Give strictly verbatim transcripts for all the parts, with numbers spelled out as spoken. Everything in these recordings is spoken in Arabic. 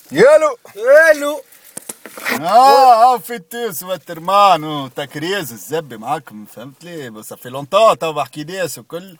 يالو يالو. اه اه في تونس وترمان وتكريز الزبي معاكم، فهمت لي؟ بس في لونطون تو بحكي ناس وكل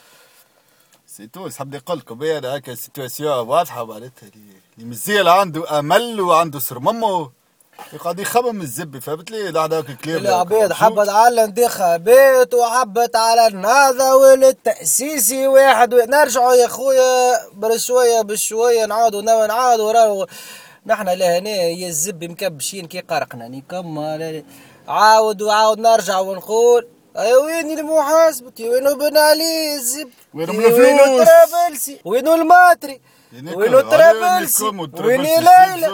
سي تونس. حبني نقول لكم انا هكا سيتواسيون واضحه معناتها اللي مزيال عنده امل وعنده سرممه يقعد يخمم الزبي، فهمت لي؟ لا هذاك الكلام العباد حبت على الانتخابات وحبت على النهضة والتأسيسي واحد. نرجعوا يا خويا بشوية بشوية نعاودوا نعاودوا راهو نحنا لهنا يا الزبي مكبشين كي قرقنا نكمل. عاود وعاود نرجع ونقول اي وين المحاسبة؟ وينو بن علي الزبي؟ وينو وينو الطرابلسي؟ وينو الماتري؟ وينو الطرابلسي؟ وين ليلى؟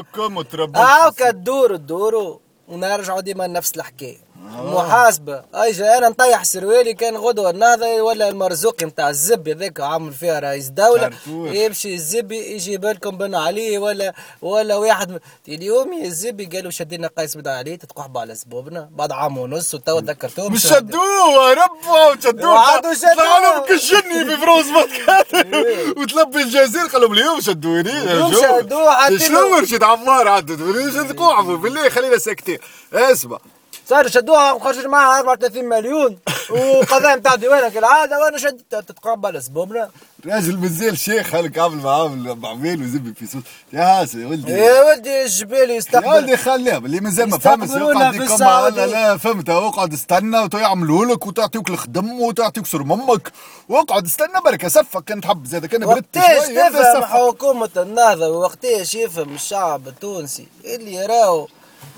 هاكا تدوروا تدوروا ونرجعوا ديما نفس الحكايه. محاسبه اجا انا نطيح سروالي كان غدوه النهضه ولا المرزوقي نتاع الزبي ذاك عامل فيها رئيس دوله يمشي الزبي يجيب لكم بن علي ولا ولا واحد. اليوم يا الزبي قالوا شدينا قيس بن علي تتقحبوا على زبوبنا بعد عام ونص وتوا ذكرتوهم مش شدوه ربوا شدوه وعادوا شدوه طلعوا كشني في فروز ماتكات وتلبي الجزير قالوا اليوم شدوني شدوه شنو رشيد عمار عدد شدقوا بالله خلينا ساكتين. اسمع صار شدوها وخرج معها أربعة وثلاثين مليون وقضايا نتاع ديوانك كالعاده وانا شدت تتقبل اسبوبنا. راجل مازال شيخ هلك عامل معامل بعمين وزبي في صوت يا هاسي يا ولدي يا ولدي الجبال يستقبل يا ولدي خليهم اللي مازال ما فهمش يقعد يكم لا لا فهمت اقعد استنى ويعملوا لك وتعطيوك الخدم وتعطيك سر ممك واقعد استنى بركه صفك كان تحب زاد كان برد شويه. وقتاش تفهم حكومه النهضه ووقتاش يفهم الشعب التونسي اللي يراو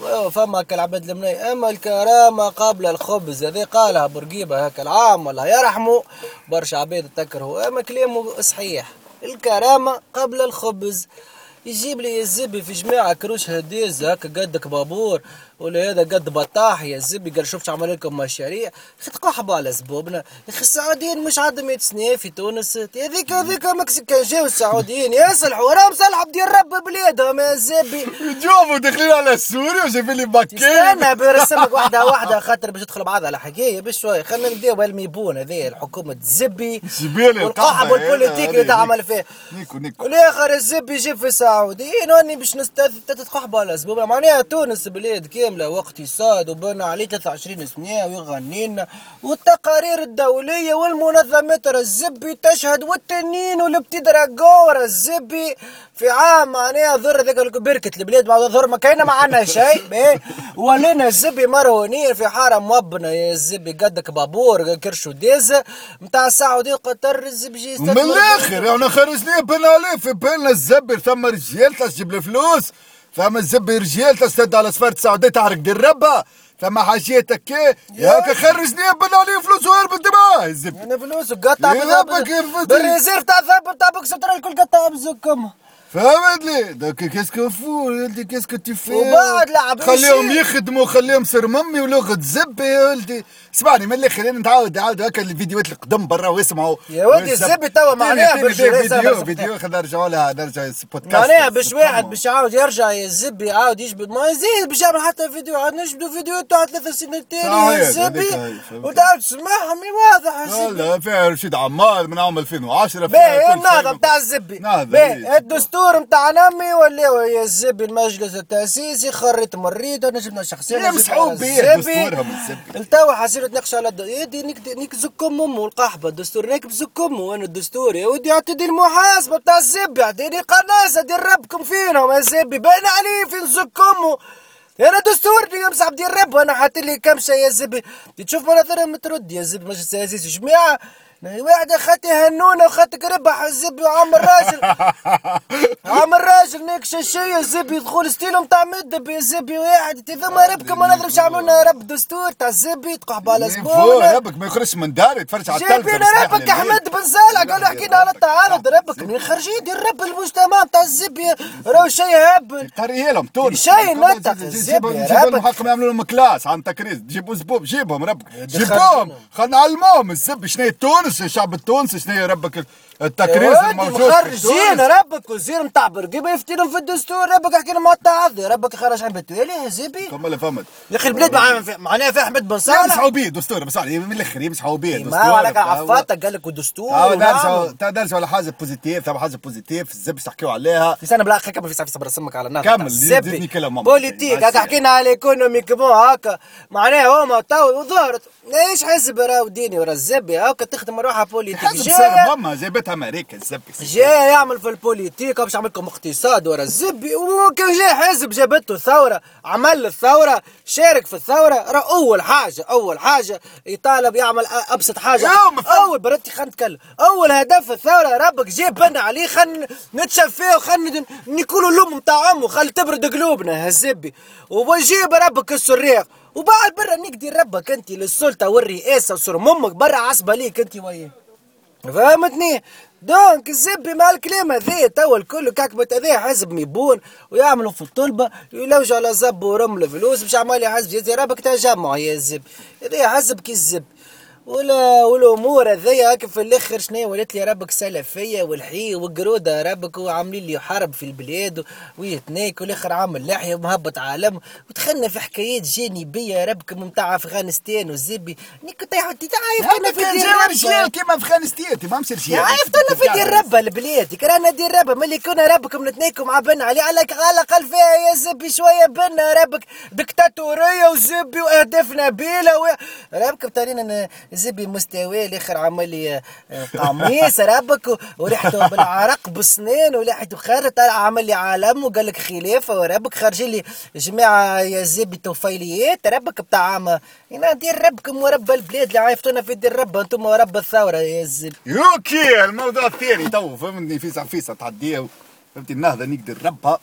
فما كالعباد المني اما الكرامه قبل الخبز هذه قالها بورقيبه هكا العام الله يرحمه برشا عباد تكرهوا اما كلامه صحيح. الكرامه قبل الخبز. يجيب لي الزبي في جماعه كروش هديز هكا قدك بابور ولا هذا قد بطاح يا الزبي قال شوف عمل لكم مشاريع تقحبوا على زبوبنا. يا اخي السعوديين مش عندهم مية سنه في تونس هذيك هذيك مكسيكان جاو السعوديين يصلحوا راهم صلحوا بدي رب بلادهم يا الزبي جاوبوا داخلين على سوريا وجايبين لي باكين. استنى برسمك واحده واحده خاطر باش تدخل بعضها الحكايه بشوي. خلينا نبداو بالميبون هذه الحكومه الزبي والقحب والبوليتيك اللي تعمل فيه. نيكو نيكو والاخر الزبي يجيب في السعوديين واني باش تتقحبوا على زبوبنا معناها تونس بلاد كامله واقتصاد وبنى عليه ثلاثة وعشرين سنه ويغنينا والتقارير الدوليه والمنظمات الزبي تشهد والتنين والبتدراجور الزبي في عام معناها ضر ذاك بركه البلاد بعد ضر ما كاينه ما عندنا شيء ولينا الزبي مرهونين في حاره مبنى يا الزبي قدك بابور كرشو ديز نتاع السعوديه قطر الزبي من الاخر انا خرجني بن عليه في بالنا الزبي ثم رجال تجيب الفلوس ثم الزبي رجال تستد على سفارة السعودية تعرق دير ربها ثم حاجيات هكا هاكا خرجني بن عليه فلوس وهرب الدماء الزبي انا فلوس وقطع بالريزيرف تاع الذهب تاع بوكس الكل قطع بزكم فهمت لي دوك كاسكو فو ولدي كاسكو تفي وبعد لعب خليهم يخدموا خليهم سر ممي ولغه زبي يا ولدي. اسمعني من الاخر خلينا نتعاود نعاود هكا الفيديوهات القدم برا واسمعوا يا ولدي الزبي توا معناها فيديو فيديو خلينا نرجعوا لها نرجع بودكاست معناها باش واحد باش يعاود يرجع يا الزبي يعاود يجبد ما يزيد باش يعمل حتى فيديو عاد نجبدوا فيديو تاع ثلاث سنين تالي الزبي وتعاود تسمعهم واضح الزبي. لا فيها رشيد عمار من عام ألفين وعشرة باهي النهضه نتاع الزبي باهي الدستور نتاعنا ولا يا الزبي المجلس التأسيسي خريت مريض انا جبنا شخصيا مسحوب بيه دستورهم الزبي التوا حاسين نتناقش على يدي نيك نيك زكم امه القحبه الدستور ناكب زكم وانا الدستور يا ودي اعطيني المحاسبه تاع الزبي اعطيني قناصه دير ربكم فينهم يا الزبي باين عليه فين زكمه انا دستورني يمسح بدير رب وانا حاطين لي كمشه يا الزبي تشوف مناظر مترد يا الزبي مجلس التأسيسي جماعه واحد اخاتي هنونه وخاتك ربح الزبي وعم الراجل عم الراجل نيك شاشيه الزبي يدخل ستيلهم تاع مدب يا الزبي واحد ثم ربكم ما نضربش عملنا رب دستور تاع الزبي تقحب على زبون ربك ما يخرجش من داري يتفرج على التلفزيون جايبين ربك احمد بن صالح قالوا حكينا على التعارض ربك من خرجين يدير رب المجتمع تاع الزبي راهو شيء هبل قريه لهم تونس شيء نتق الزبي جيبوا المحكم يعملوا لهم كلاس عن تكريس جيبوا زبوب جيبهم ربك جيبوهم خلينا نعلموهم الزبي شنو هي تونس الشعب التونسي شنو هي ربك التكريس الموجود مخرجين ربك وزير نتاع برقيبه يفتيلهم في الدستور. ربك يحكي لهم التعاضي. ربك خرج عن بتوالي يا زيبي. كمل فهمت يا اخي البلاد معناها فيها احمد بن صالح يمسحوا بيه دستور بس من الاخر يمسحوا بيه دستور. ما عليك عفاتك قال لك ودستور. اه درسوا درسوا على حاجه بوزيتيف. ثم حاجه بوزيتيف الزب باش تحكيوا عليها. في سنه بالاخر كمل في ساعه صبر اسمك على النار. كمل زدني كلام بوليتيك هكا حكينا على ايكونومي كمو هكا معناها هما تو وظهرت ايش حزب راهو ديني ورا الزبي هكا تخدم روحها بوليتيك. حزب صار ماما جابتها امريكا الزبي جاي يعمل في البوليتيك باش يعمل لكم اقتصاد ورا الزبي. وكان جاي حزب جابته ثوره عمل الثوره شارك في الثوره. راه اول حاجه اول حاجه يطالب يعمل ابسط حاجه. اول برتي خلينا نتكلم اول هدف الثوره ربك جيب بنا عليه خلينا نتشفيه وخلينا نقولوا لهم نتاع امه خلي تبرد قلوبنا هالزبي. وبجيب ربك السريق وبعد برا نقدر ربك انت للسلطه والرئاسه وصر امك برا عصبه ليك انت وياه. فهمتني؟ دونك الزبي مع الكلام هذا توا الكل كعكبت هذا حزب ميبون ويعملوا في الطلبه يلوجوا على زب ورمل فلوس باش عمال حزب جزي ربك تجمع يا الزب. هذا حزب كي الزب ولا والامور هذيا هكا في الاخر شنو ولات لي ربك سلفيه والحي والقروده ربك وعاملين لي حرب في البلاد ويتناك والاخر عامل لحيه ومهبط عالم ودخلنا في حكايات جانبيه ربك نتاع افغانستان والزبي. اني كنت عايفتنا في دير رجال كيما افغانستان ما مصير شيء. عايفتنا في دير ربا البلاد كرانا دير ربا ملي كنا ربكم نتناكم مع بنا علي على الاقل فيها يا زبي شويه بنا ربك دكتاتوريه وزبي واهداف نبيله و... ربك بتارينا زبي مستوى الاخر عمل لي قميص ربك وريحته بالعرق بالسنين وريحته خارت عمل لي عالم وقال لك خلافه وربك خارجين لي جماعه يا زبي توفيليات ربك بتاع عام هنا دير ربكم ورب البلاد اللي عايفتونا في دير رب انتم ورب الثوره يا زبي. اوكي الموضوع الثاني تو فهمتني فيسع فيسع تعديه فهمتي النهضه نقدر ربها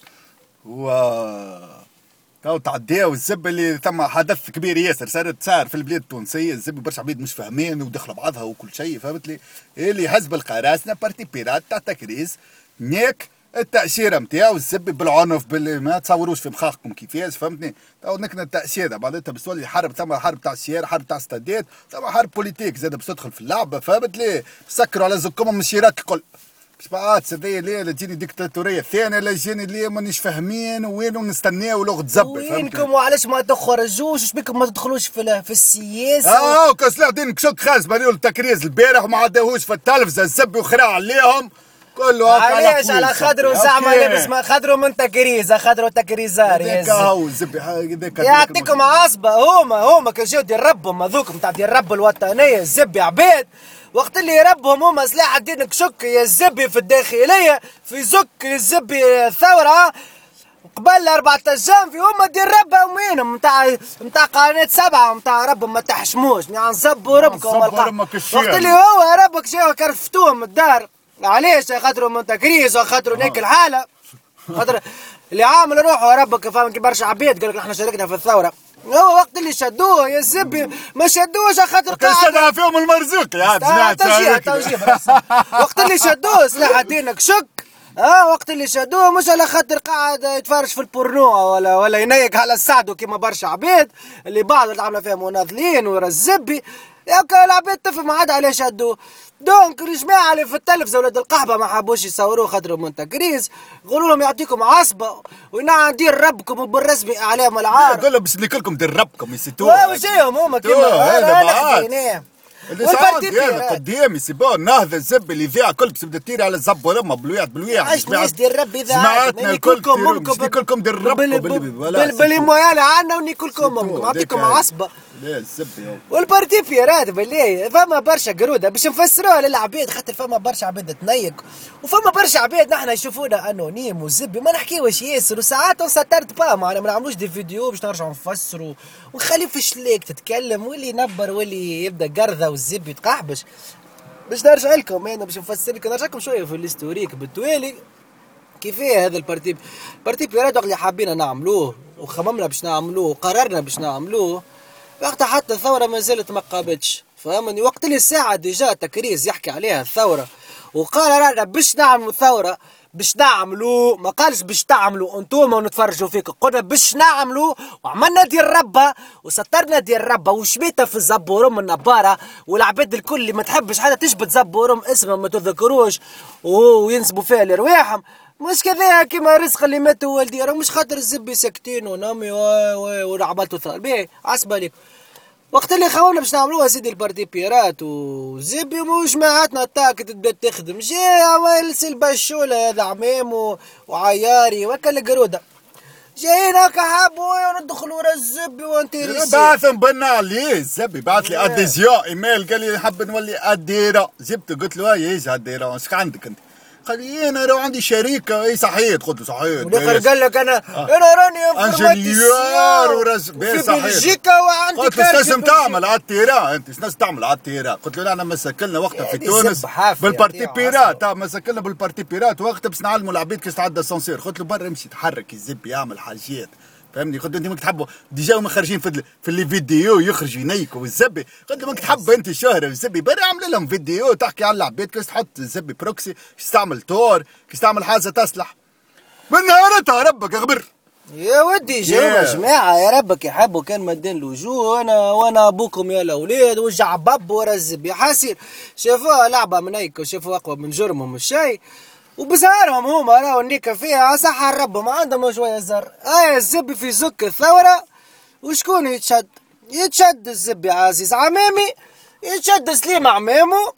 و تو تعديها والزب اللي ثم حدث كبير ياسر صارت صار في البلاد التونسيه. الزب برشا عبيد مش فاهمين ودخلوا بعضها وكل شيء فهمت لي. اللي حزب القراصنه بارتي بيرات تاع تكريس نيك التاشيره نتاعو الزب بالعنف باللي ما تصوروش في مخاخكم كيفاش فهمتني. تو نكنا التاشيره بعدها باش تولي حرب ثم حرب تاع السيارة حرب تاع ستادات ثم حرب بوليتيك زاد باش تدخل في اللعبه فهمت لي. سكروا على زكمهم من الشيرات الكل باش بعد سذيا ليه لا تجيني ديكتاتوريه ثانيه لا يجيني ليه مانيش فاهمين وينو نستناو لغه زبي وينكم وعلاش ما تخرجوش اش بكم ما تدخلوش في في السياسه. اه وكسلاح دين كشك خاص بانيو التكريز البارح وما عداوش في التلفزه الزبي وخراع عليهم كله هكا. علاش على خاطرو زعما لابس ما خاطرو من تكريزه خاطرو تكريزار هذاك هو الزبي هذاك يعطيكم عصبه. هما هما كان جاو ديال ربهم هذوك نتاع ديال رب الوطنيه الزبي عباد وقت اللي ربهم هما سلاح الدين كشك يا الزبي في الداخليه في زك الزبي الثوره قبل أربعة جانفي هما دير ربها وينهم نتاع نتاع قناه سبعه نتاع ربهم ما تحشموش يعني نصبوا ربكم وقت اللي هو ربك جاو كرفتوهم الدار. علاش خاطروا من تكريس وخاطروا ناك الحاله خاطر اللي عامل روحه ربك فاهم كي برشا عباد قال لك احنا شاركنا في الثوره. هو وقت اللي شدوه يا زبي ما شدوش خاطر قاعد شدها فيهم المرزوق يا توجيه توجيه وقت اللي شدوه سلاح دينك شك اه وقت اللي شدوه مش على خاطر قاعد يتفرج في البورنو ولا ولا ينيك على السعدو كيما برشا عباد اللي بعض اللي عامله فيها مناضلين ورا الزبي ياك العباد تفهم عاد علاش شدوه. دونك الجماعه اللي في التلفزه ولاد القحبه ما حبوش يصوروه خاطر من تكريس قولوا لهم يعطيكم عصبه ونعم ندير ربكم وبالرسمي اعلام العار قول لهم باش نكلكم دير ربكم يسيتوه وجاهم هما كيما انا حكيناه والبارتي قدامي سيبون نهضه الزب اللي فيها كل تبدا تيري على الزب ولما بلويات بلويات عايش ناس دير ربي ذا جماعتنا كلكم ممكن كلكم دير ربكم باللي مويال عنا وني كلكم ممكن نعطيكم عصبه. لا الزب والبارتي بيرات بالله فما برشا قروده باش نفسروها للعباد خاطر فما برشا عباد تنيك وفما برشا عباد نحن يشوفونا انونيم وزبي ما نحكيوش ياسر وساعات نسطرت با معنا ما نعملوش دي فيديو باش نرجعوا نفسروا ونخلي في شليك تتكلم واللي ينبر واللي يبدا قرضه والزبي يتقحبش باش نرجع لكم انا باش نفسر لكم نرجع لكم شويه في الاستوريك بالتوالي كيفاه هذا البارتي بارتي بيرات اللي حابين نعملوه وخممنا باش نعملوه وقررنا باش نعملوه وقتها حتى الثورة ما زالت ما قامتش فهمني. وقت اللي الساعة ديجا تكريز يحكي عليها الثورة وقال رانا باش نعمل ثورة باش نعملوا، ما قالش باش تعملوا انتوما ونتفرجوا فيكم، قلنا باش نعملوا وعملنا ديال ربا وسطرنا ديال ربا وشميتها في الزبورم النباره، والعباد الكل اللي ما تحبش حتى تجبد زبورم اسمهم ما تذكروش وينسبوا فيها لرواحهم، مش كذا كيما رزق اللي ماتوا والدي، راه مش خاطر الزبي ساكتين ونامي وعملتوا ثار باهي عصبه ليك. وقت اللي خاونا باش نعملوها سيدي البارتي بيرات وزبي وجماعاتنا تاك تبدا تخدم، جي عمل البشوله هذا عمام وعياري وكا القروده جايين هكا حابوا ندخلوا ورا الزبي وانتيريسي. بعثهم بنا عليه الزبي، بعث لي اديزيون ايميل قال لي نحب نولي اديره، جبت قلت له هاي اديره ايش عندك انت؟ قال لي انا راه عندي شركه. اي صحيح؟ قلت له صحيح. والاخر قال لك انا آه. انا راني انجليور ورز في بلجيكا وعندي قلت له لازم تعمل على التيران، انت لازم تعمل على التيران. قلت له لا انا مسكلنا وقتها في تونس بالبارتي بيرات، مسكلنا بالبارتي بيرات وقتها باش نعلموا العبيد كيفاش تعدى السانسير. قلت له برا امشي تحرك الزب يعمل حاجات فهمني. قلت له انت ماك تحبوا ديجا هما خارجين في في لي فيديو يخرجوا ينيكوا الزبي. قلت له ماك تحب انت الشهره والزبي برا اعمل لهم فيديو تحكي على العباد كيفاش تحط الزبي بروكسي، كيفاش تستعمل تور، كيفاش تعمل حاجه تصلح. من نهارتها ربك اغبر يا ودي جاوبوا yeah. جماعه يا ربك يحبوا كان مدين الوجوه وانا وانا ابوكم يا الاولاد وجع باب ورا الزبي حاسين شافوها لعبه من هيك وشافوا اقوى من جرمهم الشيء وبزهرهم هما راهو النيكه فيها صح ربهم عندهم شويه زر. اي الزبي في زك الثوره وشكون يتشد؟ يتشد الزبي عزيز عمامي، يتشد سليم عمامو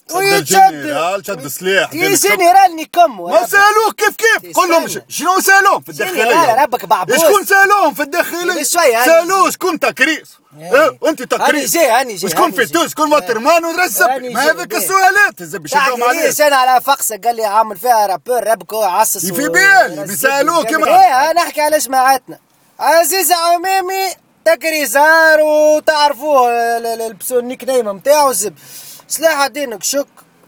ويتشد شد سليح يا جنرال نيكم. ما سالوه كيف كيف؟ قول لهم شنو سالوهم في الداخليه؟ ربك بعبوس شكون سالوهم في الداخليه؟ سالوه شكون تكريس؟ انت تكريس هاني جاي هاني جاي شكون في تونس؟ شكون وترمان ورزب؟ ما هذيك السؤالات الزبي شدهم عليه. ليش انا على فقسه قال لي عامل فيها رابور ربك هو عصص في بالي بيسالوه كيما ايه نحكي على جماعتنا عزيز عمامي تكريزار وتعرفوه البسو النيك نيم نتاعو الزب سلاح دينك شك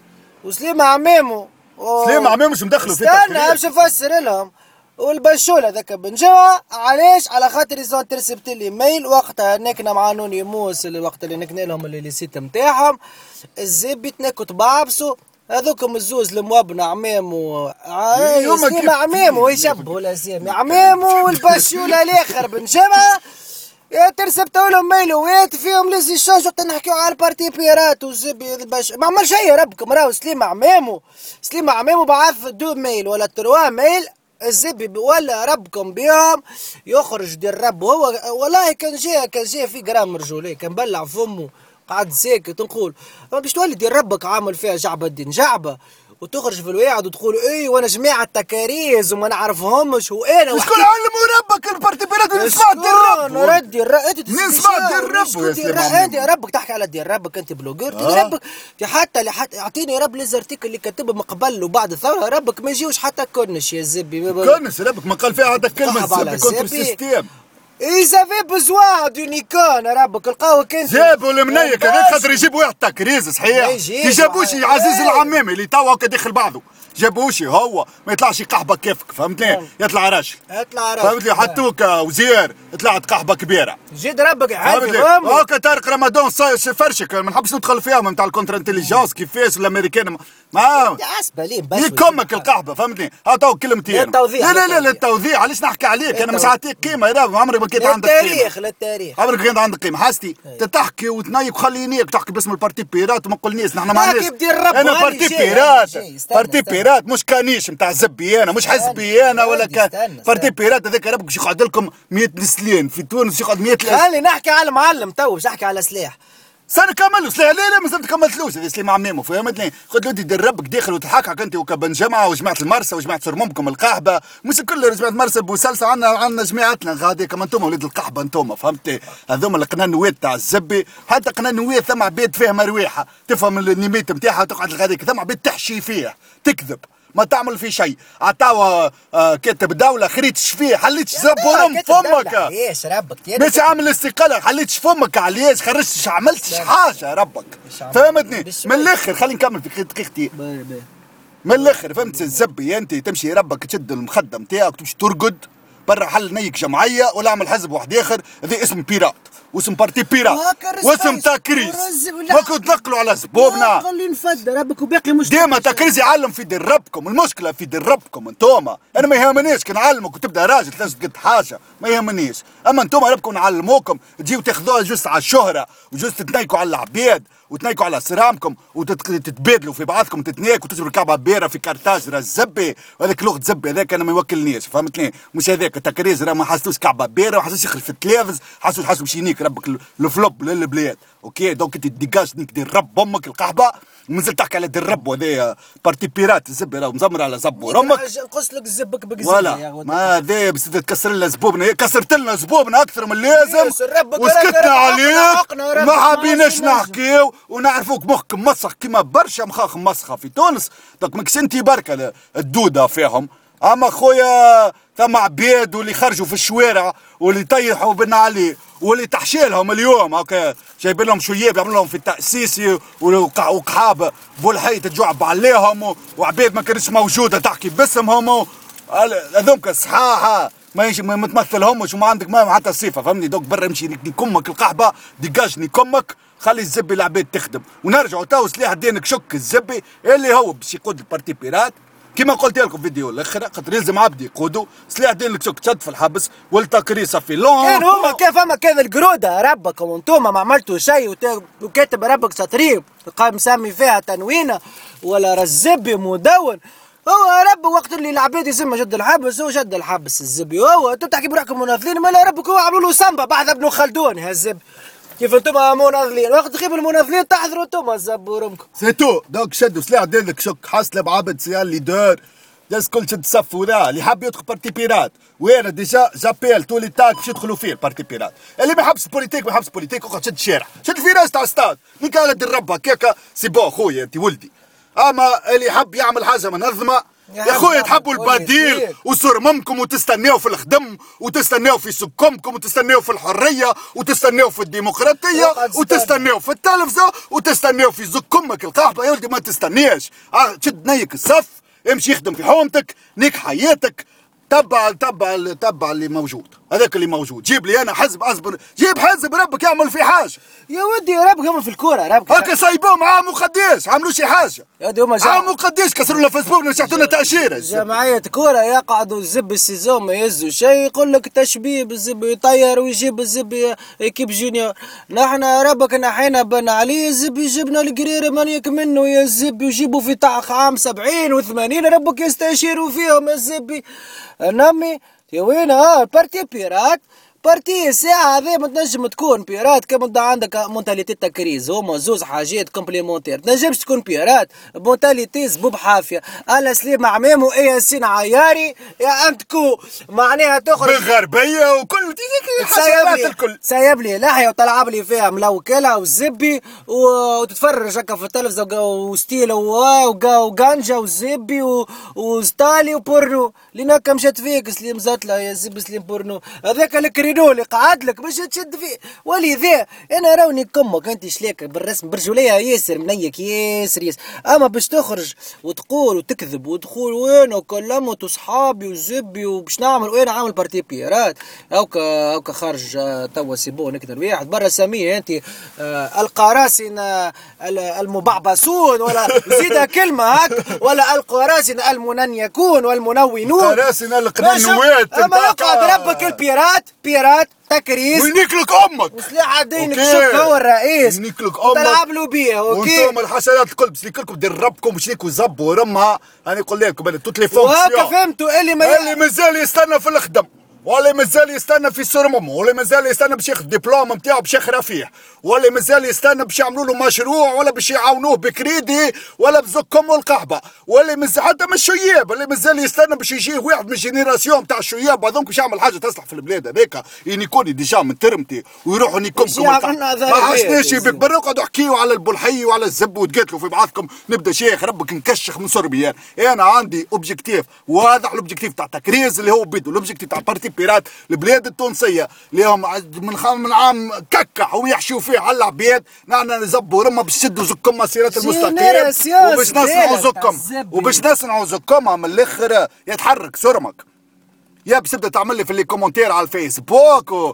وسليم عمامو و... سليم عمامو مش مدخلوا في تكرير. استنى باش نفسر لهم. والبشوله ذاك بن جوا علاش؟ على خاطر يزون ترسبت لي ميل وقتها نكنا مع نوني موس الوقت اللي نكنا لهم اللي سيت نتاعهم الزب يتنكوا تبعبسوا هذوكم الزوز الموابنا عمامو سليم عمامو يشبهوا الاسامي عمامو والبشوله الاخر بن جوا يا ترسبتوا لهم ميلوات فيهم لازم يشوجوا وقت نحكيو على البارتي بيرات والزبي الباش ما عمل شيء ربكم راهو سليم عمامو سليم عمامو بعث دو ميل ولا تروا ميل الزبي ولا ربكم بيهم يخرج ديال رب هو والله كان جاي كان جاي في جرام رجولي كان بلع فمه قعد ساكت نقول باش تولي ديال ربك عامل فيها جعبه الدين جعبه وتخرج في الواعد وتقول اي وانا جماعه تكاريز وما نعرفهمش وانا شكون علموا ربك البارتي بيرات نسمع ديال رب نردي انت نسمع ديال رب يا انت ربك تحكي على ديال ربك انت بلوجر آه. ربك حتى حتى اعطيني رب ليزارتيكل اللي كتبه من قبل وبعد الثوره ربك ما يجيوش حتى كونش يا زبي كونش ربك ما قال فيها هذا كلمه زبي كونتر سيستيم. إذا في بزوان دو نيكون ربك القهوة كنت جابوا المنيك هذاك خاطر يجيبوا واحد تكريز صحيح كي جابوش عزيز العمامي اللي توا هكا داخل بعضه جابوش هو ما يطلعش قحبه كيفك فهمتني يطلع راشد يطلع راشد فهمتني حطوك وزير طلعت قحبه كبيره جد ربك يحفظ هكا طارق رمضان فرشك ما نحبش ندخل فيها نتاع الكونتر انتليجنس كيفاش الامريكان ما يكمك القحبه فهمتني ها تو كلمتين لا لا لا للتوضيح علاش نحكي عليك انا مش عطيك قيمه عمري ما كنت عندك قيمه للتاريخ للتاريخ عمرك كنت عندك قيمه حاستي تحكي وتنيك وخلينيك تحكي باسم البارتي بيرات وما نقولنيش نحن ما عندناش انا بارتي بيرات بارتي بيرات مش كانيش نتاع زبي انا مش حزبي انا ولا كان بارتي بيرات هذاك ربك باش يقعد لكم مية نسلين في تونس يقعد مية خلي نحكي على المعلم تو باش نحكي على سلاح سنة كملوا سلاح لا لا مازال كملتلوش هذا سليم عمامو فهمتني قلت له انت دير ربك داخل وتحقق انت وكبن جمعه وجماعه المرسى وجماعه سرممكم القحبه مش كل جماعه مرسى بوسلسه عندنا عندنا جماعتنا غادي كما انتم ولاد القحبه انتم فهمتي هذوما القنانوات تاع الزبي حتى قنانوات ثم عباد فيها مرويحه تفهم النيميت نتاعها وتقعد الغاديك ثم عباد تحشي فيه تكذب ما تعمل في شيء عطاوا آه كاتب دولة خريتش فيه حليتش زبورم فمك علاش ربك مش عامل استقالة حليتش فمك علاش خرجتش عملتش حاجة ربك فهمتني من الاخر خلينا نكمل في دقيقتين من الاخر فهمت الزبي انت تمشي ربك تشد المخدم تاعك تمشي ترقد برا حل نيك جمعية ولا اعمل حزب واحد اخر هذا اسمه بيرات واسم بارتي بيرات وهكا واسم رز تكريس. ورز ولا- ما كنت تنقلوا على زبوبنا. خلي نفد ربك وباقي مش ديما تكريز يعلم في دربكم، المشكله في دربكم انتوما. انا ما يهمنيش كي نعلمك وتبدا راجل تلازم قد حاجه، ما يهمنيش. اما انتوما ربكم نعلموكم تجيو تاخذوها جوست على الشهره وجوست تتنيكوا على العباد وتنيكوا على سرامكم وتتبادلوا في بعضكم تتنيك وتجروا كعبه بيره في كارتاج راه الزبي. هذاك لغه زبي هذاك انا ما يوكلنيش، فهمتني؟ مش هذاك التكريز راه ما حسوش كعبه بيره، ما حسوش يخرج في التلفز، حسوش حسوا باش ينيك ربك الفلوب للبلاد. اوكي دونك انت ديجاج نيك دير رب امك القحبه ومازلت تحكي على دير رب وهذا بارتي بيرات الزبي راه مزمر على زبور امك. نقص لك زبك بك ولا ما هذا بس تكسر لنا زبوبنا، كسرت لنا زبوبنا اكثر من اللازم وسكتنا عليك ما حابيناش نحكيو ونعرفوك مخك مسخ كيما برشا مخاخ مسخه في تونس. دونك ماكش انت بركه الدوده فيهم. اما خويا ثم عباد واللي خرجوا في الشوارع واللي طيحوا بنا عليه واللي تحشيلهم اليوم هكا جايبين لهم شياب يعملوا لهم في التاسيسي وقحابه بولحي تجعب عليهم وعباد ما كانتش موجوده تحكي باسمهم هذوك صحاحه ما ما تمثلهمش وما عندك ما حتى صفه فهمني. دوك برا امشي كمك القحبه ديجاجني كمك خلي الزبي العباد تخدم ونرجعوا تو سلاح دينك شك الزبي اللي هو باش يقود البارتي بيرات كما قلت لكم فيديو الاخر خاطر يلزم عبد يقودوا سلاح دينك شك تشد في الحبس والتكريسه في لون. كان هما كيف هما كيف القروده ربكم وانتوما ما عملتوا شيء وكاتب ربك سطرين قام مسمي فيها تنوينه ولا رزبي مدون. هو رب وقت اللي العباد يسمى شد الحبس هو شد الحبس الزبي. هو انتم تحكي بروحكم مناضلين ما لا ربك هو عملوا له سامبا بعد ابن خلدون هالزب كيف انتم مناضلين وقت تخيب المناضلين تحضروا انتم زبوا رمكم سيتو. دوك شدوا سلاح دينك شك حاسله بعبد سيال ليدر جالس كل شد صف وذا اللي حاب يدخل بارتي بيرات وانا ديجا جابيل تو لي تاك باش يدخلوا فيه البارتي بيرات. اللي ما يحبش بوليتيك ما يحبش بوليتيك اقعد شد الشارع شد الفراس تاع ستاد نيك على دربها كيكا سي بون خويا انت ولدي. اما اللي يحب يعمل حاجه منظمه يا خويا تحبوا البديل وصرممكم وتستناو في الخدم وتستناو في سكمكم وتستناو في الحريه وتستناو في الديمقراطيه وتستناو في التلفزه وتستناو في زكمك القحبه يا ولدي ما تستناش. شد نيك الصف امشي يخدم في حومتك نيك حياتك تبع تبع تبع اللي موجود هذاك اللي موجود. جيب لي انا حزب اصبر جيب حزب ربك يعمل في حاجه يا ودي ربك يعمل في الكوره ربك هكا صايبوهم عام وقديش عملوا شي حاجه يا ودي هما عام وقديش كسروا لنا فيسبوك نشحتوا لنا تاشيره جمعيه كوره يقعدوا الزب السيزون ما يهزوا شيء يقول لك تشبيب الزب يطير ويجيب الزب ايكيب جونيور. نحن ربك نحينا بن علي الزب يجيبنا القريره من يك منه يا الزب يجيبوا في طاق عام سبعين وثمانين ربك يستشيروا فيهم الزبي نمي يا وين ها بارتي بيرات بارتي الساعة هذه ما تنجم تكون بيرات كما انت عندك مونتاليتي تكريز هما زوز حاجات كومبليمونتير تنجمش تكون بيرات مونتاليتي زبوب حافية. انا سليم عمام وياسين عياري يا انتكو معناها تخرج بالغربية وكل حسابات الكل سايب لي لحية وطلعب لي فيها ملوكلة وزبي وتتفرج هكا في التلفزة وستيل وغانجا وزبي وستالي وبورنو ليناك مشات فيك سليم زاتلا يا زبي سليم بورنو هذاك الكري اللي قعد لك باش تشد فيه ولذا انا روني كمك انت شليك بالرسم برجوليه ياسر منيك ياسر ياسر. اما باش تخرج وتقول وتكذب وتقول وين وكلمت وصحابي وزبي وباش نعمل وين عامل بارتي بيرات هاكا هاكا خارج توا سيبو نكتر واحد برا سميه انت آه القراصنه المبعبسون ولا زيد كلمه هاك ولا القراصنه المننيكون والمنونون القراصنه القنوات. اما يقعد ربك البيرات بيرات تكريس وينيكلك امك وسلاح دينك شك هو الرئيس وينيكلك امك تلعب له بيه اوكي وانتم الحشرات الكل باش لكم دربكم باش ليكوا زب ورمها. انا نقول لكم انا توت لي فونكسيون وهكا فهمتوا اللي ما اللي مازال يستنى في الخدم واللي مازال يستنى في السرمم واللي مازال يستنى باش ياخذ دبلوم نتاعو باش يخرا فيه واللي مازال يستنى باش يعملوا له مشروع ولا باش يعاونوه بكريدي ولا بزكم والقحبه واللي مازال حتى من الشياب اللي مازال يستنى باش يجي واحد من الجينيراسيون تاع الشياب هذوك باش يعمل حاجه تصلح في البلاد هذاك ينيكوني ديجا من ترمتي ويروحوا نيكمكم ما عشناش بك برا قعدوا احكيوا على البلحي وعلى الزب وتقاتلوا في بعضكم. نبدا شيخ ربك نكشخ من صربيان. انا عندي اوبجيكتيف واضح الاوبجيكتيف تاع تكريز اللي هو بيدو الاوبجيكتيف تاع بارتي بيرات البلاد التونسيه اللي هم من من عام ككح ويحشوا فيه على العباد نحن نزبوا رمى باش يشدوا زكم مسيرات المستقيم وباش نصنعوا زكم وباش نصنعوا زكم من الاخر يتحرك سرمك يابس تبدا تعمل لي في لي كومونتير على الفيسبوك و...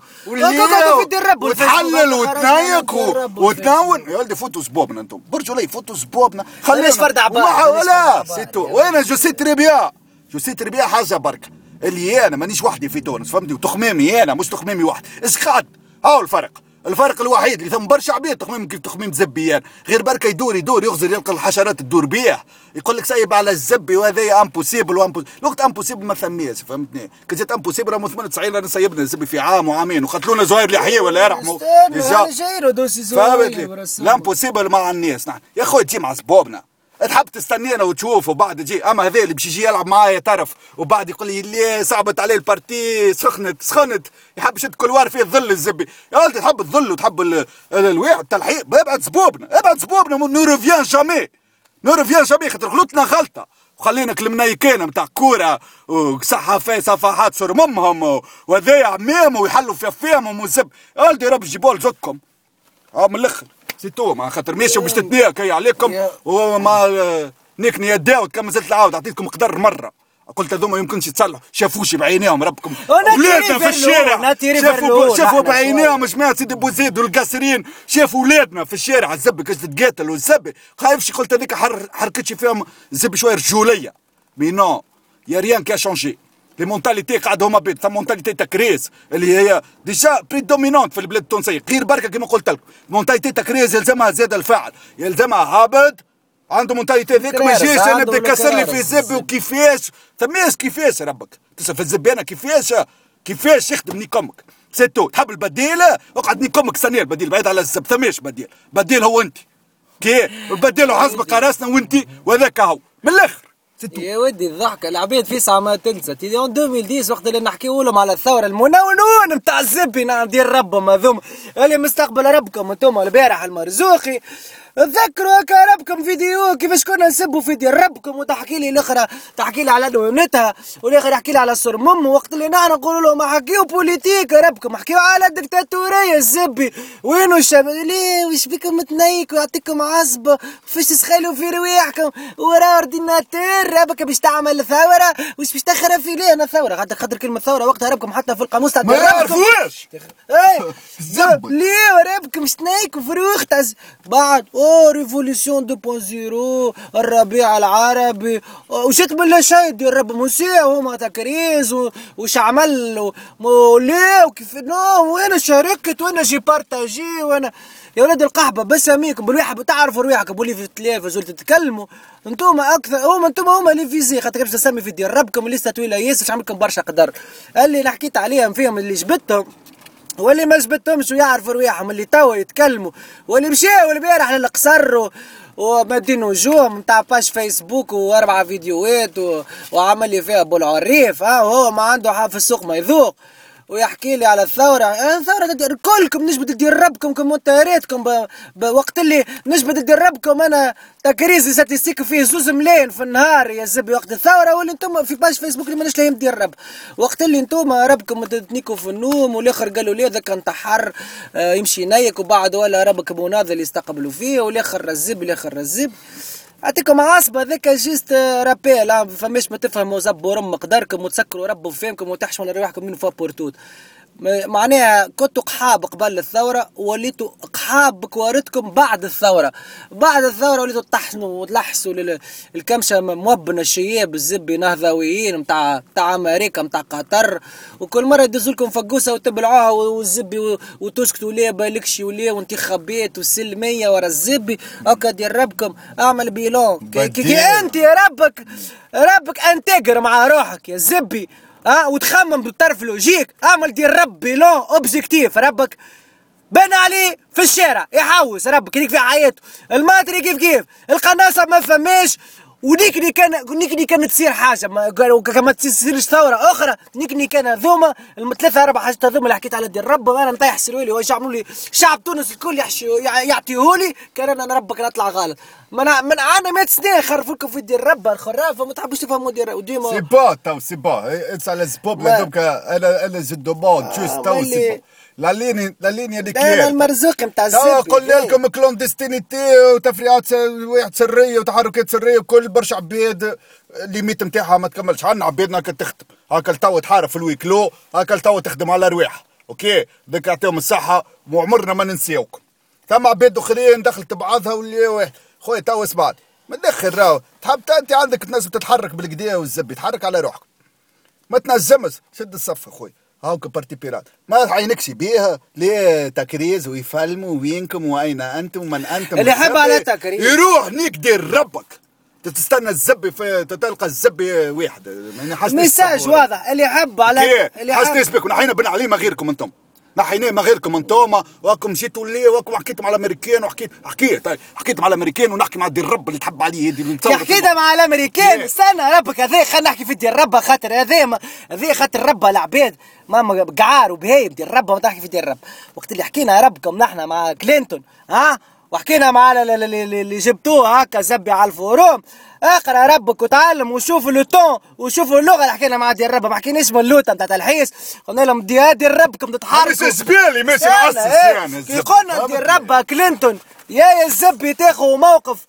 وتحلل وتنايق و... وتنون. يا ولدي فوتوا سبوبنا انتم برجوا لي فوتوا سبوبنا خلينا فرد عباد ولا سيتو. وانا جو سي تري بيان جو سي تري بيان حاجه برك اللي انا مانيش وحدي في تونس فهمتني وتخميمي انا مش تخميمي واحد اسقعد. هاو الفرق الفرق الوحيد اللي ثم برشا عباد تخميم كيف تخميم زبيان غير بركه يدور يدور يغزر يلقى الحشرات تدور بيه يقول لك سايب على الزبي وهذا امبوسيبل وامبوسيبل. الوقت امبوسيبل ما ثميش فهمتني كي جات امبوسيبل راهو ثمانية وتسعين رانا سيبنا الزبي في عام وعامين وقتلونا زهير اليحيى ولا يرحموا فهمتني. الامبوسيبل مع الناس نحن يا خويا تجي مع سبوبنا تحب تستنينا وتشوف وبعد تجي. اما هذا اللي باش يجي يلعب معايا طرف وبعد يقول لي ليه صعبت عليه البارتي سخنت سخنت يحب يشد كل وار فيه ظل الزبي. يا ولدي تحب الظل وتحب الواحد التلحيق ابعد سبوبنا ابعد سبوبنا نو ريفيان جامي نو ريفيان جامي خاطر غلطنا غلطه وخلينا كلمنايكينا نتاع كوره وصحافات صفحات صور ممهم وهذايا عمام ويحلوا في فيهم وزب. يا ولدي رب جيبوا لزكم اه من الاخر سيتو مع خاطر ماشي وباش تتنيك هي عليكم وما نيكني يداو كم زلت العاود عطيتكم قدر مره قلت هذوما يمكنش يتصلحوا شافوش بعينيهم ربكم ولادنا في الشارع شافوا شافوا بعينيهم جماعه سيدي بوزيد والقاسرين شافوا ولادنا في الشارع الزبي كاش تتقاتل والزبي خايفش قلت هذيك حر حركتش فيهم الزبي شويه رجوليه مي نو يا ريان كي شونجي لي مونتاليتي قاعد هما بيت ثم مونتاليتي تكريس اللي هي ديجا بريدومينونت في البلاد التونسيه غير بركه كما قلت لكم مونتاليتي تكريس يلزمها زاد الفاعل يلزمها هابط عنده مونتاليتي ذيك ما يجيش انا نبدا يكسر لي في زبي وكيفاش ثماش كيفاش ربك تسال في الزبي انا كيفاش كيفاش يخدم نيكمك سيتو تحب البديل اقعد نيكمك ثانيه البديل بعيد على الزب ثماش بديل بديل هو انت كي البديل حسب قراسنا وانت وذاك هو من الاخر يا ودي الضحكة العباد في ساعة ما تنسى تي اون ألفين وعشرة وقت اللي نحكيو لهم على الثورة المنونون نتاع الزبي نعم دير ربهم هذوما اللي مستقبل ربكم انتم البارح المرزوقي تذكروا هكا ربكم فيديو كيفاش كنا نسبوا فيديو ربكم وتحكي لي الاخرى تحكي لي على نونتها والاخر يحكي لي على صور مم وقت اللي نحن نقول لهم حكيو بوليتيك ربكم حكيو على الدكتاتورية الزبي وينو الشباب ليه وش بكم متنيك ويعطيكم عصبة فاش تسخلوا في رواحكم ورا اورديناتور ربك باش تعمل ثورة وش باش تخرب في ليه انا ثورة خاطر خاطر كلمة ثورة وقتها ربكم حتى في القاموس تاع ما يعرفوش اي ليه ربكم مش تنيك وفروخ بعد او ريفوليسيون دو بوان زيرو الربيع العربي وش تبلا شيء ديال رب موسى هما تكريز وش عمل وليه وكيف نو وين شاركت وانا جي بارتاجي وانا يا ولاد القحبه بساميكم بالواحد تعرفوا رواحكم بولي في التلفاز ولا تتكلموا انتم اكثر هما انتم هما اللي فيزي خاطر باش تسمي في ديال ربكم اللي طويله ياسر عملكم برشا قدر اللي حكيت عليهم فيهم اللي جبتهم واللي ما جبتهمش ويعرفوا رواحهم اللي توا يتكلموا واللي مشاو البارح للقصر ومادين وجوهم نتاع باش فيسبوك واربعه فيديوهات و... وعمل لي فيها ابو العريف ها هو ما عنده حاجه في السوق ما يذوق ويحكي لي على الثورة الثورة كلكم نجبد ندير ربكم كومنتاراتكم بوقت اللي نجبد ندير ربكم انا تكريز ستيستيك فيه زوز ملايين في النهار يا زبي وقت الثورة واللي انتم في باش فيسبوك اللي ماناش لاهيين ندير رب وقت اللي انتم ربكم تتنيكوا في النوم والاخر قالوا لي ذاك انتحر آه يمشي نيك وبعد ولا ربك مناضل يستقبلوا فيه والاخر رزب الاخر رزب اعطيكم عصبه ذاك جيست رابيل فماش ما تفهموا زبوا رم مقداركم وتسكروا ربوا فيمكم وتحشموا رواحكم من فوق بورتوت معناها كنتوا قحاب قبل الثورة وليتوا قحاب بكوارتكم بعد الثورة بعد الثورة وليتوا تحسنوا وتلحسوا للكمشة موبنا الشياب الزبي نهضويين متاع متاع أمريكا متاع قطر وكل مرة يدزوا لكم فقوسة وتبلعوها والزبي وتسكتوا ليه بالكشي وليه وانتخابات وسلمية ورا الزبي هكا دير ربكم اعمل بيلون كي, كي انت يا ربك ربك انتجر مع روحك يا زبي ها أه وتخمم بالطرف لوجيك اعمل دير رب بيلون اوبجيكتيف ربك بان عليه في الشارع يحوس ربك يديك في حياته الماتري كيف كيف القناصه ما فماش ونيكني كان نيكني كانت تصير حاجه ما قالوا كما تصيرش ثوره اخرى نيكني كان ذوما الثلاثه اربع حاجات هذوما اللي حكيت على دير رب انا نطيح سرويلي ويعملوا لي شعب تونس الكل يعطيهولي كان انا ربك نطلع غلط من من عنا مئة سنه خرفوا لكم في دير رب الخرافه ما تحبوش تفهموا دير وديما سي با تو سي با اتس على سبوب دوك انا انا جو دوموند جوست تو سي با لا ليني لا ليني هذيك انا المرزوق نتاع الزبي. قلنا لكم كلوندستينيتي وتفريعات واحد سريه وتحركات سريه وكل برشا عباد الليميت نتاعها ما تكملش. عندنا عبادنا هكا تخدم هكا توا تحارب في الويكلو هكا توا تخدم على رواح اوكي ذاك يعطيهم الصحه وعمرنا ما ننساوكم. ثم عباد اخرين دخلت بعضها واللي واحد خويا توا اسمعني ما تدخل راهو تحب انت عندك تنجم تتحرك بالكدا والزبي تحرك على روحك ما تنجمش شد الصف اخويا هاوك بارتي بيرات ما عينكش بيها ليه تكريز ويفلموا وينكم واين انتم ومن انتم اللي يحب على تكريز يروح نيك دير ربك تستنى الزبي في تلقى الزبي واحد يعني حسن ميساج واضح اللي يحب على اللي حسن اسمك ونحينا بن عليه ما غيركم انتم نحينا ما غيركم انتم واكم جيتوا لي واكم حكيتوا على الامريكان وحكيت حكيت طيب حكيت مع الامريكان ونحكي مع دير الرب اللي تحب عليه هذه اللي حكينا مع الامريكان استنى ربك هذا خلينا نحكي في دير الرب خاطر هذا هذا خاطر الرب العباد ماما قعار وبهايم دير الرب ما تحكي في دير الرب وقت اللي حكينا ربكم نحن مع كلينتون ها وحكينا مع اللي جبتوه هكا زبي على الفوروم اقرا ربك وتعلم وشوف لو طون وشوفوا اللغه اللي حكينا مع دير الرب ما حكيناش من اللوطه نتاع الحيس قلنا لهم دي دير ربكم تتحركوا مش زبالي ماشي معسس يعني كي قلنا دير ربها كلينتون يا يا الزبي تاخذ موقف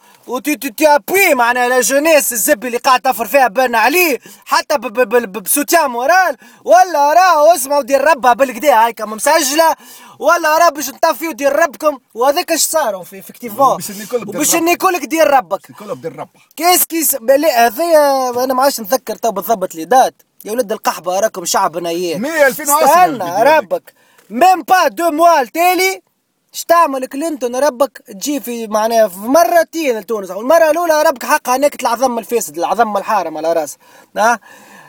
وتابوي معنا لا جونيس الزبي اللي قاعد تفر فيها بان عليه حتى بسوتيان مورال ولا راهو اسمعوا دير ربها بالكدا هايكا مسجله ولا راه باش نطفيو دير ربكم وهذاك اش صاروا في فيكتيفون وباش نيكولك دير ربك نيكولك دير ربك كيس كيس هذايا انا ما عادش نتذكر تو بالضبط لي دات يا ولد القحبه راكم شعبنا اياه مية ألفين وعشرة استنى ربك ميم با دو موا التالي اش تعمل كلينتون ربك تجي في معناها في مرتين لتونس المره الاولى ربك حقها هناك العظم الفاسد العظم الحارم على راسه ها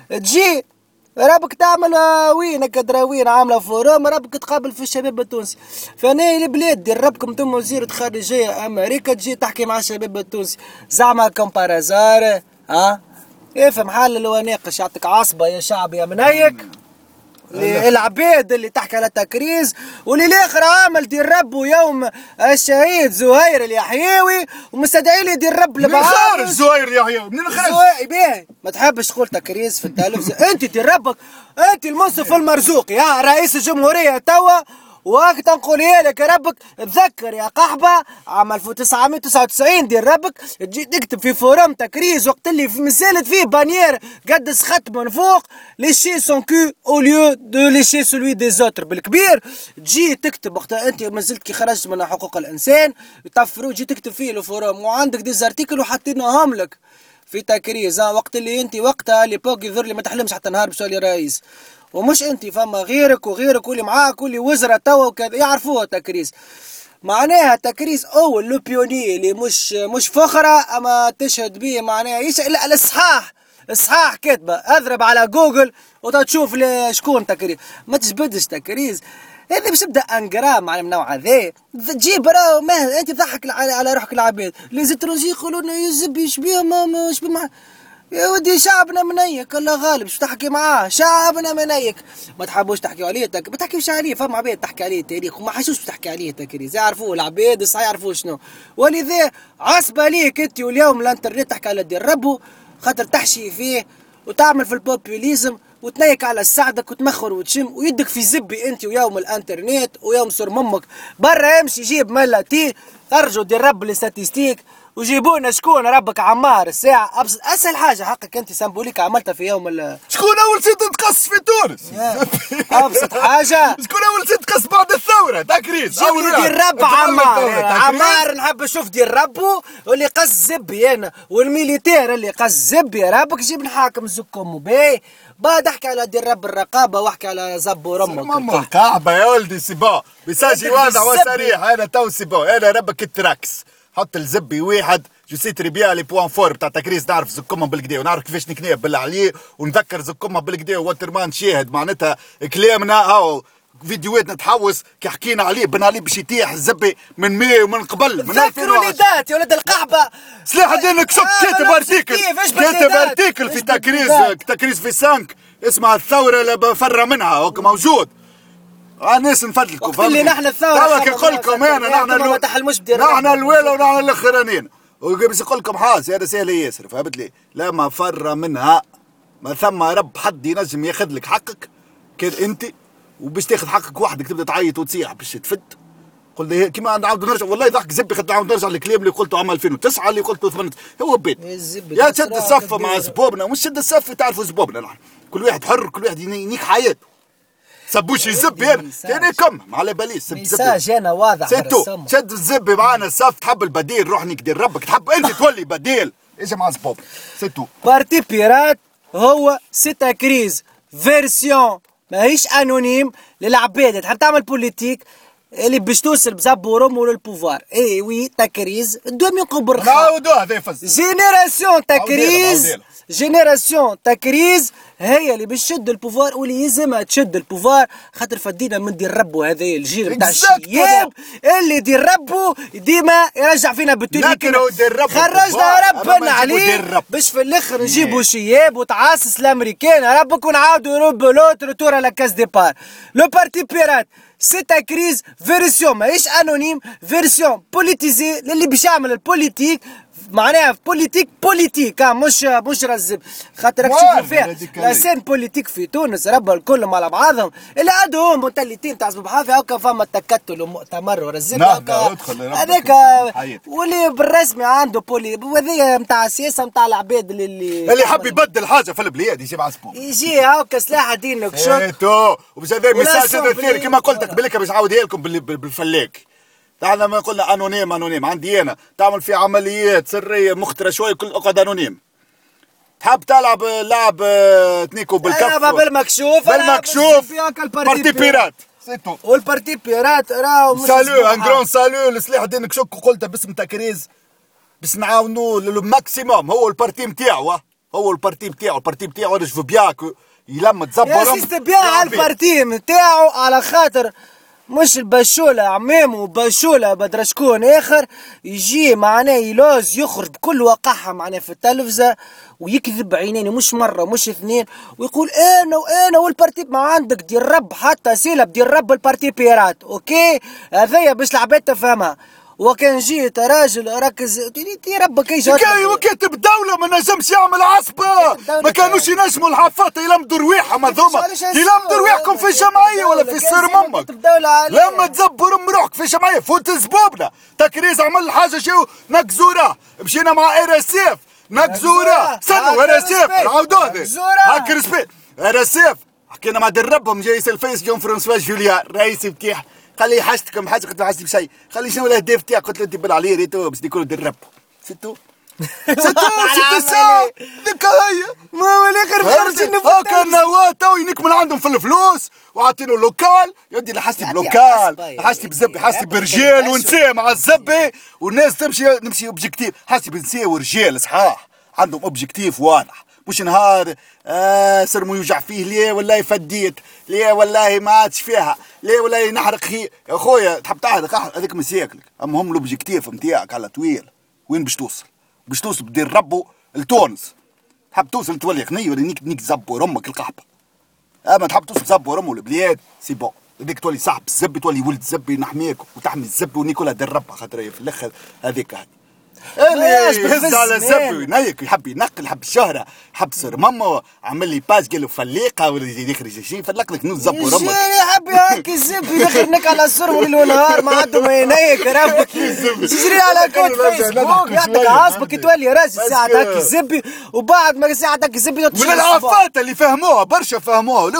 تجي ربك تعمل وينك دراوين عامله فوروم ربك تقابل في الشباب التونسي فانا البلاد دير ربكم انتم وزيرة خارجيه امريكا تجي تحكي مع الشباب التونسي زعما كومبارازار ها افهم حال اللي ناقش يعطيك عصبه يا شعب يا منيك العباد اللي تحكي على تكريز واللي الاخر عامل دير ربه يوم الشهيد زهير اليحيوي ومستدعي لي دير رب من خارج زهير اليحيوي من خارج باهي ما تحبش تقول تكريز في التلفزيون انت دير ربك انت المنصف المرزوق يا رئيس الجمهوريه توا وقت نقول لك يا ربك تذكر يا قحبه عام ألف وتسعمية وتسعة وتسعين دير ربك تجي تكتب في فورم تكريز وقت اللي مسالت فيه بانيير قدس خط من فوق ليشي سون كو او ليو دو ليشي سولوي دي زوتر بالكبير تجي تكتب وقت انت مازلت كي خرجت من حقوق الانسان يطفروا تجي تكتب فيه الفورم وعندك دي زارتيكل وحاطينهم لك في تكريز وقت اللي انت وقتها ليبوك يظهر لي ما تحلمش حتى نهار باش تولي رئيس ومش انت فما غيرك وغيرك واللي معاك واللي وزراء توا وكذا يعرفوها تكريس معناها تكريس اول لو بيوني اللي مش مش فخره اما تشهد به معناها يش لا الصحاح الصحاح كاتبه اضرب على جوجل وتشوف شكون تكريس ما تجبدش تكريس هذا باش تبدا انجرام على النوع هذا تجيب راه ما انت تضحك على, على روحك العباد لي زيترونجي يقولوا لنا يزب يشبيه ما يشبه مع يا ودي شعبنا منيك الله غالب شو تحكي معاه شعبنا منيك ما تحبوش تحكيوا عليه تك... ما تحكيوش عليه فما عباد تحكي عليه تاريخ وما حشوش تحكي عليه تكريز يعرفوه العباد صح يعرفوا شنو ولذا عصبه ليك انت واليوم الانترنت تحكي على دير ربو خاطر تحشي فيه وتعمل في البوبوليزم وتنيك على سعدك وتمخر وتشم ويدك في زبي انت ويوم الانترنت ويوم صور ممك برا امشي جيب ملاتي ارجو دير رب الاستاتيستيك وجيبونا شكون ربك عمار الساعة أبسط أسهل حاجة حقك أنت سامبوليك عملتها في يوم ال شكون أول سيد تقص في تونس؟ أبسط حاجة شكون أول سيد تقص بعد الثورة تكريس جيب دير رب عمار عمار نحب نشوف دير ربو واللي قص زبي أنا والميليتير اللي قص زبي ربك جيب نحاكم زكم باهي بعد احكي على دير رب الرقابة واحكي على زب ورمك ماما الكعبة يا ولدي سيبا بيساجي واضح وصريح هذا تو سيبا هذا ربك التراكس حط الزبي واحد جو سي تري بيان لي بوان فور بتاع تكريس نعرف زكمهم بالكدا ونعرف كيفاش نكنيه بالله عليه ونذكر زكمهم بالكدا ووترمان شاهد معناتها كلامنا هاو فيديوهاتنا تحوس كي حكينا عليه بن علي باش يتيح الزبي من مية ومن قبل من ذكروا ليدات يا ولد القحبه سلاح الدين كشك كاتب ارتيكل كاتب ارتيكل في تكريس تكريس في سانك اسمها الثوره اللي فر منها هوك موجود الناس نفدلكم وقت اللي نحن الثوره توا كي نقول لكم انا نحن ما تحلموش بدير نحن الاولى ونحن الاخرانيين وباش نقول لكم حاس هذا سهل ياسر فهمت لي لما فر منها ما ثم رب حد ينجم ياخذ لك حقك كان انت وباش تاخذ حقك وحدك تبدا تعيط وتصيح باش تفد. قلنا كيما نعاود نرجع والله ضحك زبي خاطر نعاود نرجع للكلام اللي قلته عام ألفين وتسعة اللي قلته ثمانية هو بيت يا تشد الصفه مع زبوبنا مش شد الصفه تعرفوا زبوبنا نحن كل واحد حر كل واحد ينيك حياته سبوش يزب انا كان كم على باليس سب ميساج انا واضح سيتو شد الزب معانا الصف تحب البديل روح نقدر ربك تحب انت تولي بديل اجي مع زبوب سيتو بارتي بيرات هو سيتا كريز فيرسيون ماهيش انونيم للعباد تحب تعمل بوليتيك اللي باش توصل بزبورهم للبوفوار اي وي تكريز دوم ينقوا بالرخاء نعاودوها هذا يفز جينيراسيون تكريز جينيراسيون تكريز هي اللي باش تشد البوفوار واللي يلزمها تشد البوفوار خاطر فدينا من دير ربو هذا الجيل نتاع الشياب اللي دير ربو ديما يرجع فينا بالتوني خرجنا ربنا عليه باش في الاخر نجيبوا شياب وتعاسس الامريكان ربك ونعاودوا نربوا لوتر تور على كاس ديبار لو بارتي بيرات سيتا كريز فيرسيون ماهيش انونيم فيرسيون بوليتيزي اللي باش يعمل البوليتيك معناها بوليتيك بوليتيك مش مش رزب خاطر راك تشوفوا فيها لا سين بوليتيك في تونس ربا الكل مع بعضهم اللي عندهم مونتاليتي نتاع صباح هكا فما تكتل ومؤتمر ورزب هكا هذاك واللي بالرسمي عنده بولي وهذه نتاع السياسه نتاع العباد اللي اللي حب يبدل حاجه في البلاد يجي مع سبور يجي هكا سلاح دين وكشوت ايه تو وباش هذا ميساج هذا كيما قلت لك بلك باش نعاودها لكم بالفلاك تعال ما قلنا انونيم انونيم عندي انا تعمل في عمليات سريه مخترة شويه كل اقعد انونيم تحب تلعب لعب تنيكو بالكف تلعب بالمكشوف بالمكشوف بارتي بيرات سيتو والبارتي بيرات راهو سالو ان جرون سالو لسلاح الدين كشوك قلتها باسم تكريز باش نعاونوا للماكسيموم هو البارتي نتاعو هو البارتي نتاعو البارتي نتاعو انا جو بيان يلم تزبر يا سيستي بيان على البارتي نتاعو على خاطر مش البشولة عمامه وبشولة بدرا شكون اخر يجي معناه يلوز يخرج بكل وقاحة معناه في التلفزة ويكذب عينين مش مرة مش اثنين ويقول انا وانا والبارتي ما عندك دير رب حتى سيلب دير رب البارتي بيرات اوكي هذايا باش العباد تفهمها وكان جيت راجل ركز تي ربك ايش كاي وكاتب الدولة ما نجمش يعمل عصبة ما كانوش ينجموا الحفاظة يلمدوا رواحهم هذوما يلمدوا رواحكم في جمعية ولا في سر ممك لما تزبر ام روحك في جمعية فوت زبوبنا تكريز عمل حاجة شو نكزورة مشينا مع ار اس اف نكزورة استنوا ار اس اف نعاودوها هاك ريسبي ار اس اف حكينا مع دربهم جاي الفيس جون فرانسوا جوليان رئيس بتاعه قال لي حاجتكم حاجه قلت له حاجتي بشيء قال لي شنو الاهداف تاعك قلت له دبل عليه ريتو باش يكونوا دربوا ستو ستو ستو ساعه ذيك هي ما هو الاخر خرج هاكا النواه تو ينكمل عندهم في الفلوس وعاطينه لوكال يدي لحستي بلوكال حستي بزبي حستي برجال ونساء مع الزبي والناس تمشي نمشي اوبجيكتيف حستي بنساء ورجال صحاح عندهم اوبجيكتيف واضح مش نهار آه سرمو يوجع فيه ليه والله فديت ليه والله ما عادش فيها ليه والله نحرق هي يا خويا تحب تحرق هذيك مساكلك اما هم الاوبجيكتيف نتاعك على طويل وين باش توصل باش توصل بدير ربو لتونس تحب توصل تولي غني ولا نيك نيك زبور امك القحبه اما تحب توصل زبور امه البلاد سي بون هذيك تولي صاحب الزبي تولي ولد الزبي نحميك وتحمي الزبي ونيكولا دير ربها خاطر في الاخر هذيك هذه اللي يهز على الزبي وينيك يحب ينقل يحب الشهرة يحب صير ماما عمل لي باج قال له فليقه ولا يخرج شيء فلق لك نوز زبو رمك يحب يهكي الزبي يخرنك على السر ليل ونهار ما عندهم ينيك ربك تجري على كود فيسبوك يعطيك عصبك تولي راجل ساعة هكي الزبي وبعد ما ساعة هكي الزبي من العفات اللي فهموها برشا فهموها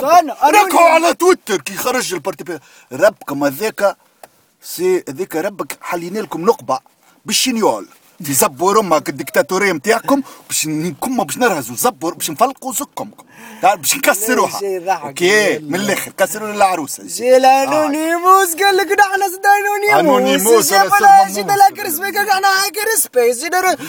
ركعوا على تويتر كي خرج البارتي ربكم هذاك سي هذاك ربك حلينا لكم نقبه بالشنيول في زبور امك الدكتاتوريه نتاعكم باش نكم باش نرهزوا زبور باش نفلقوا زكم باش نكسروها اوكي من الاخر كسروا العروسه جي الانونيموس قال لك نحن زد انونيموس انونيموس جينا لك رسبي قال نحن هاكر سبيس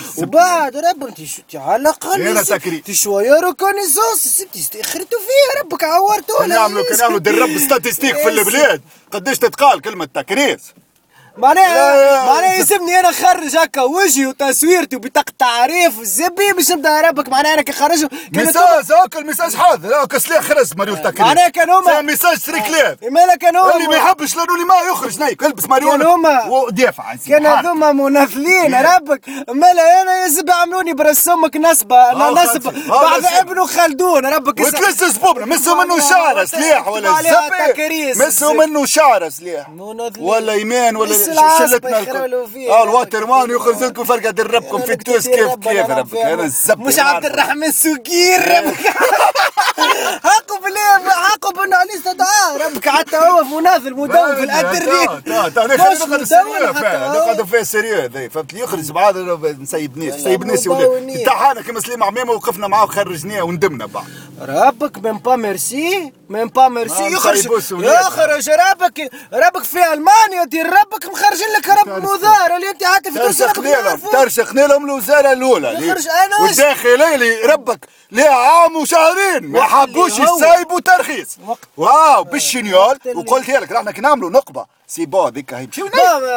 وبعد ربك انت على الاقل انت شويه ريكونيسونس سبتي خرتوا فيها ربك عورتونا كانوا يعملوا كانوا يعملوا درب ستاتستيك في البلاد قداش تتقال كلمه تكريس معناها معناها يلزمني انا نخرج هكا وجهي وتصويرتي وبطاقة تعريف الزبي باش نبدا ربك معناها انا كي نخرجهم. ميساج هاكا الميساج حاضر هاكا سلاح خرج مريول تاكل. معناها كان هما ميساج تريكلير. مالا كان هما اللي ما يحبش لانوني ما يخرج نايك البس مريول. كان هما ودافع. كان هذوما مناثلين ربك مالا انا يا زبي عملوني برسمك نصبه نصب بعد ابن خلدون ربك. وتلس سبوبنا مسوا منه شعره سلاح ولا زبي مسوا منه شعره سلاح ولا يمين ولا شلتنا اه الواتر مان يخرج لكم فرقه دربكم في التوس كيف كيف ربك انا الزبي مش عبد الرحمن سوقير ربك حقوا بالله حقوا بانه عليه استدعاء ربك حتى هو مناضل مدون في الانترنت. مش مدون نقعدوا فيه سيريو فهمت يخرج بعض نسيب ناس نسيب ناس امتحانا كيما سليم عمامه وقفنا معاه وخرجناه وندمنا بعض. ربك من با ميرسي من با ميرسي يخرج يخرج ربك ربك في المانيا دير ربك مخرجين لك رب مدار اللي انت حتى في تونس ترشقنا لهم الوزاره الاولى يخرج انا والداخليه اللي ربك ليه عام وشهرين ما حبوش يسايبوا ترخيص واو بالشنيال وقلت لك راحنا كي نعملوا نقبه سي بو هذيك هي مشيو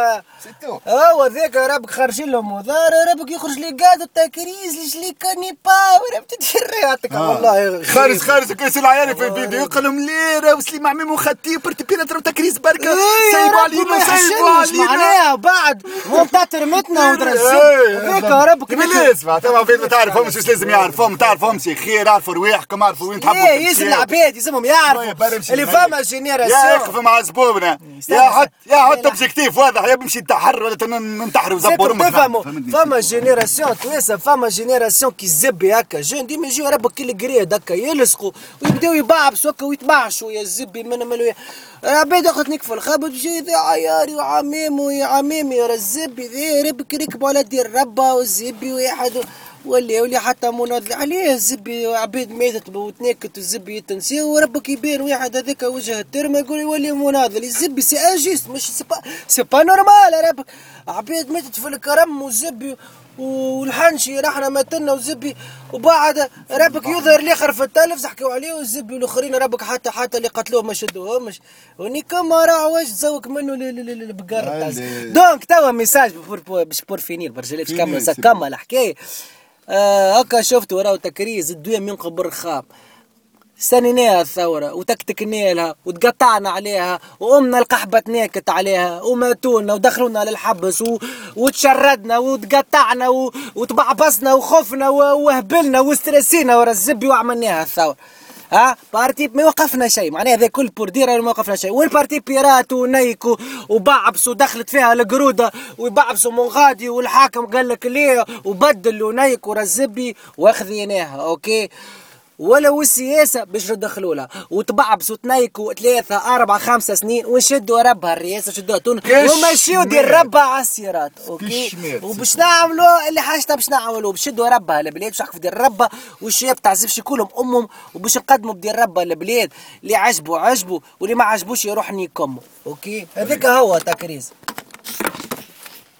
هو ذاك ربك خارجين له مدار ربك يخرج لي قاد التكريز ليش لي كاني باور بتدير رياضتك والله خارج خارج كاس العيال في الفيديو يقول لهم ليره وسليم عمام وخطيب برتبينا ترى تكريز بركه سايبوا علينا سايبوا علينا معناها بعد وانت ترمتنا ودرزت هذاك ربك بلاش تما فين ما تعرفهم مش لازم يعرفهم تعرفهم شي خير عرفوا رواحكم عرفوا وين تحبوا ايه يلزم العباد يلزمهم يعرفوا اللي فما جينيراسيون يا يقف مع زبوبنا يا حط يا حط اوبجيكتيف واضح يا بمشي نتحر ولا ننتحر وزبور امك تفهموا فما جينيراسيون تويسا فما جينيراسيون كي الزبي هكا جون ديما يجيو ربك كل قريد هكا يلصقوا ويبداو يبعبسوا هكا ويتبعشوا يا الزبي من ملو عباد اخذتني في الخبط جاي ذا عياري وعمامي ويا عمامي يا الزبي ذا ربك ركبوا على دير ربا والزبي واحد ولي ولي حتى مناضل عليه الزبي عبيد ماتت وتناكت الزبي يتنسي وربك يبان واحد هذاك وجه الترمه يقول يولي مناضل الزبي سي اجيست مش سي با سي با نورمال ربك عبيد ماتت في الكرم والزبي والحنشي رحنا ماتنا والزبي وبعد ربك يظهر الاخر في التلفز حكوا عليه والزبي والاخرين ربك حتى حتى اللي قتلوه ما شدوهمش وني كما راه واش تزوق منه البقر دونك توا ميساج باش بور فينير برجلي باش كمل كمل الحكايه هكا آه شفت وراه تكريز الدنيا من قبر خام سنيناها الثورة وتكتكنا لها وتقطعنا عليها وأمنا القحبة تناكت عليها وماتونا ودخلونا للحبس و... وتشردنا وتقطعنا و... وتبعبصنا وخفنا و... وهبلنا واسترسينا ورا الزبي وعملناها الثورة. ها بارتي ما وقفنا شيء معناها هذا كل بورديرا ما وقفنا شيء والبارتي بيرات ونيكو وبعبس ودخلت فيها القروده وبعبسوا من غادي والحاكم قال لك ليه وبدل ونيك ورا الزبي واخذيناها اوكي ولو السياسه باش ندخلوا لها وتبعبسوا تنيكوا ثلاثه اربعه خمسه سنين ونشدوا ربها الرئاسه شدوها تونس ومشيوا دير ربها على السيارات اوكي وباش نعملوا اللي حاجتها باش نعملوا باش نشدوا ربها البلاد باش نحكوا دير ربها والشباب تاع زفشي كلهم امهم وباش نقدموا بدير ربها البلاد اللي عجبوا عجبوا واللي ما عجبوش يروح نيكموا اوكي هذاك هو تكريز.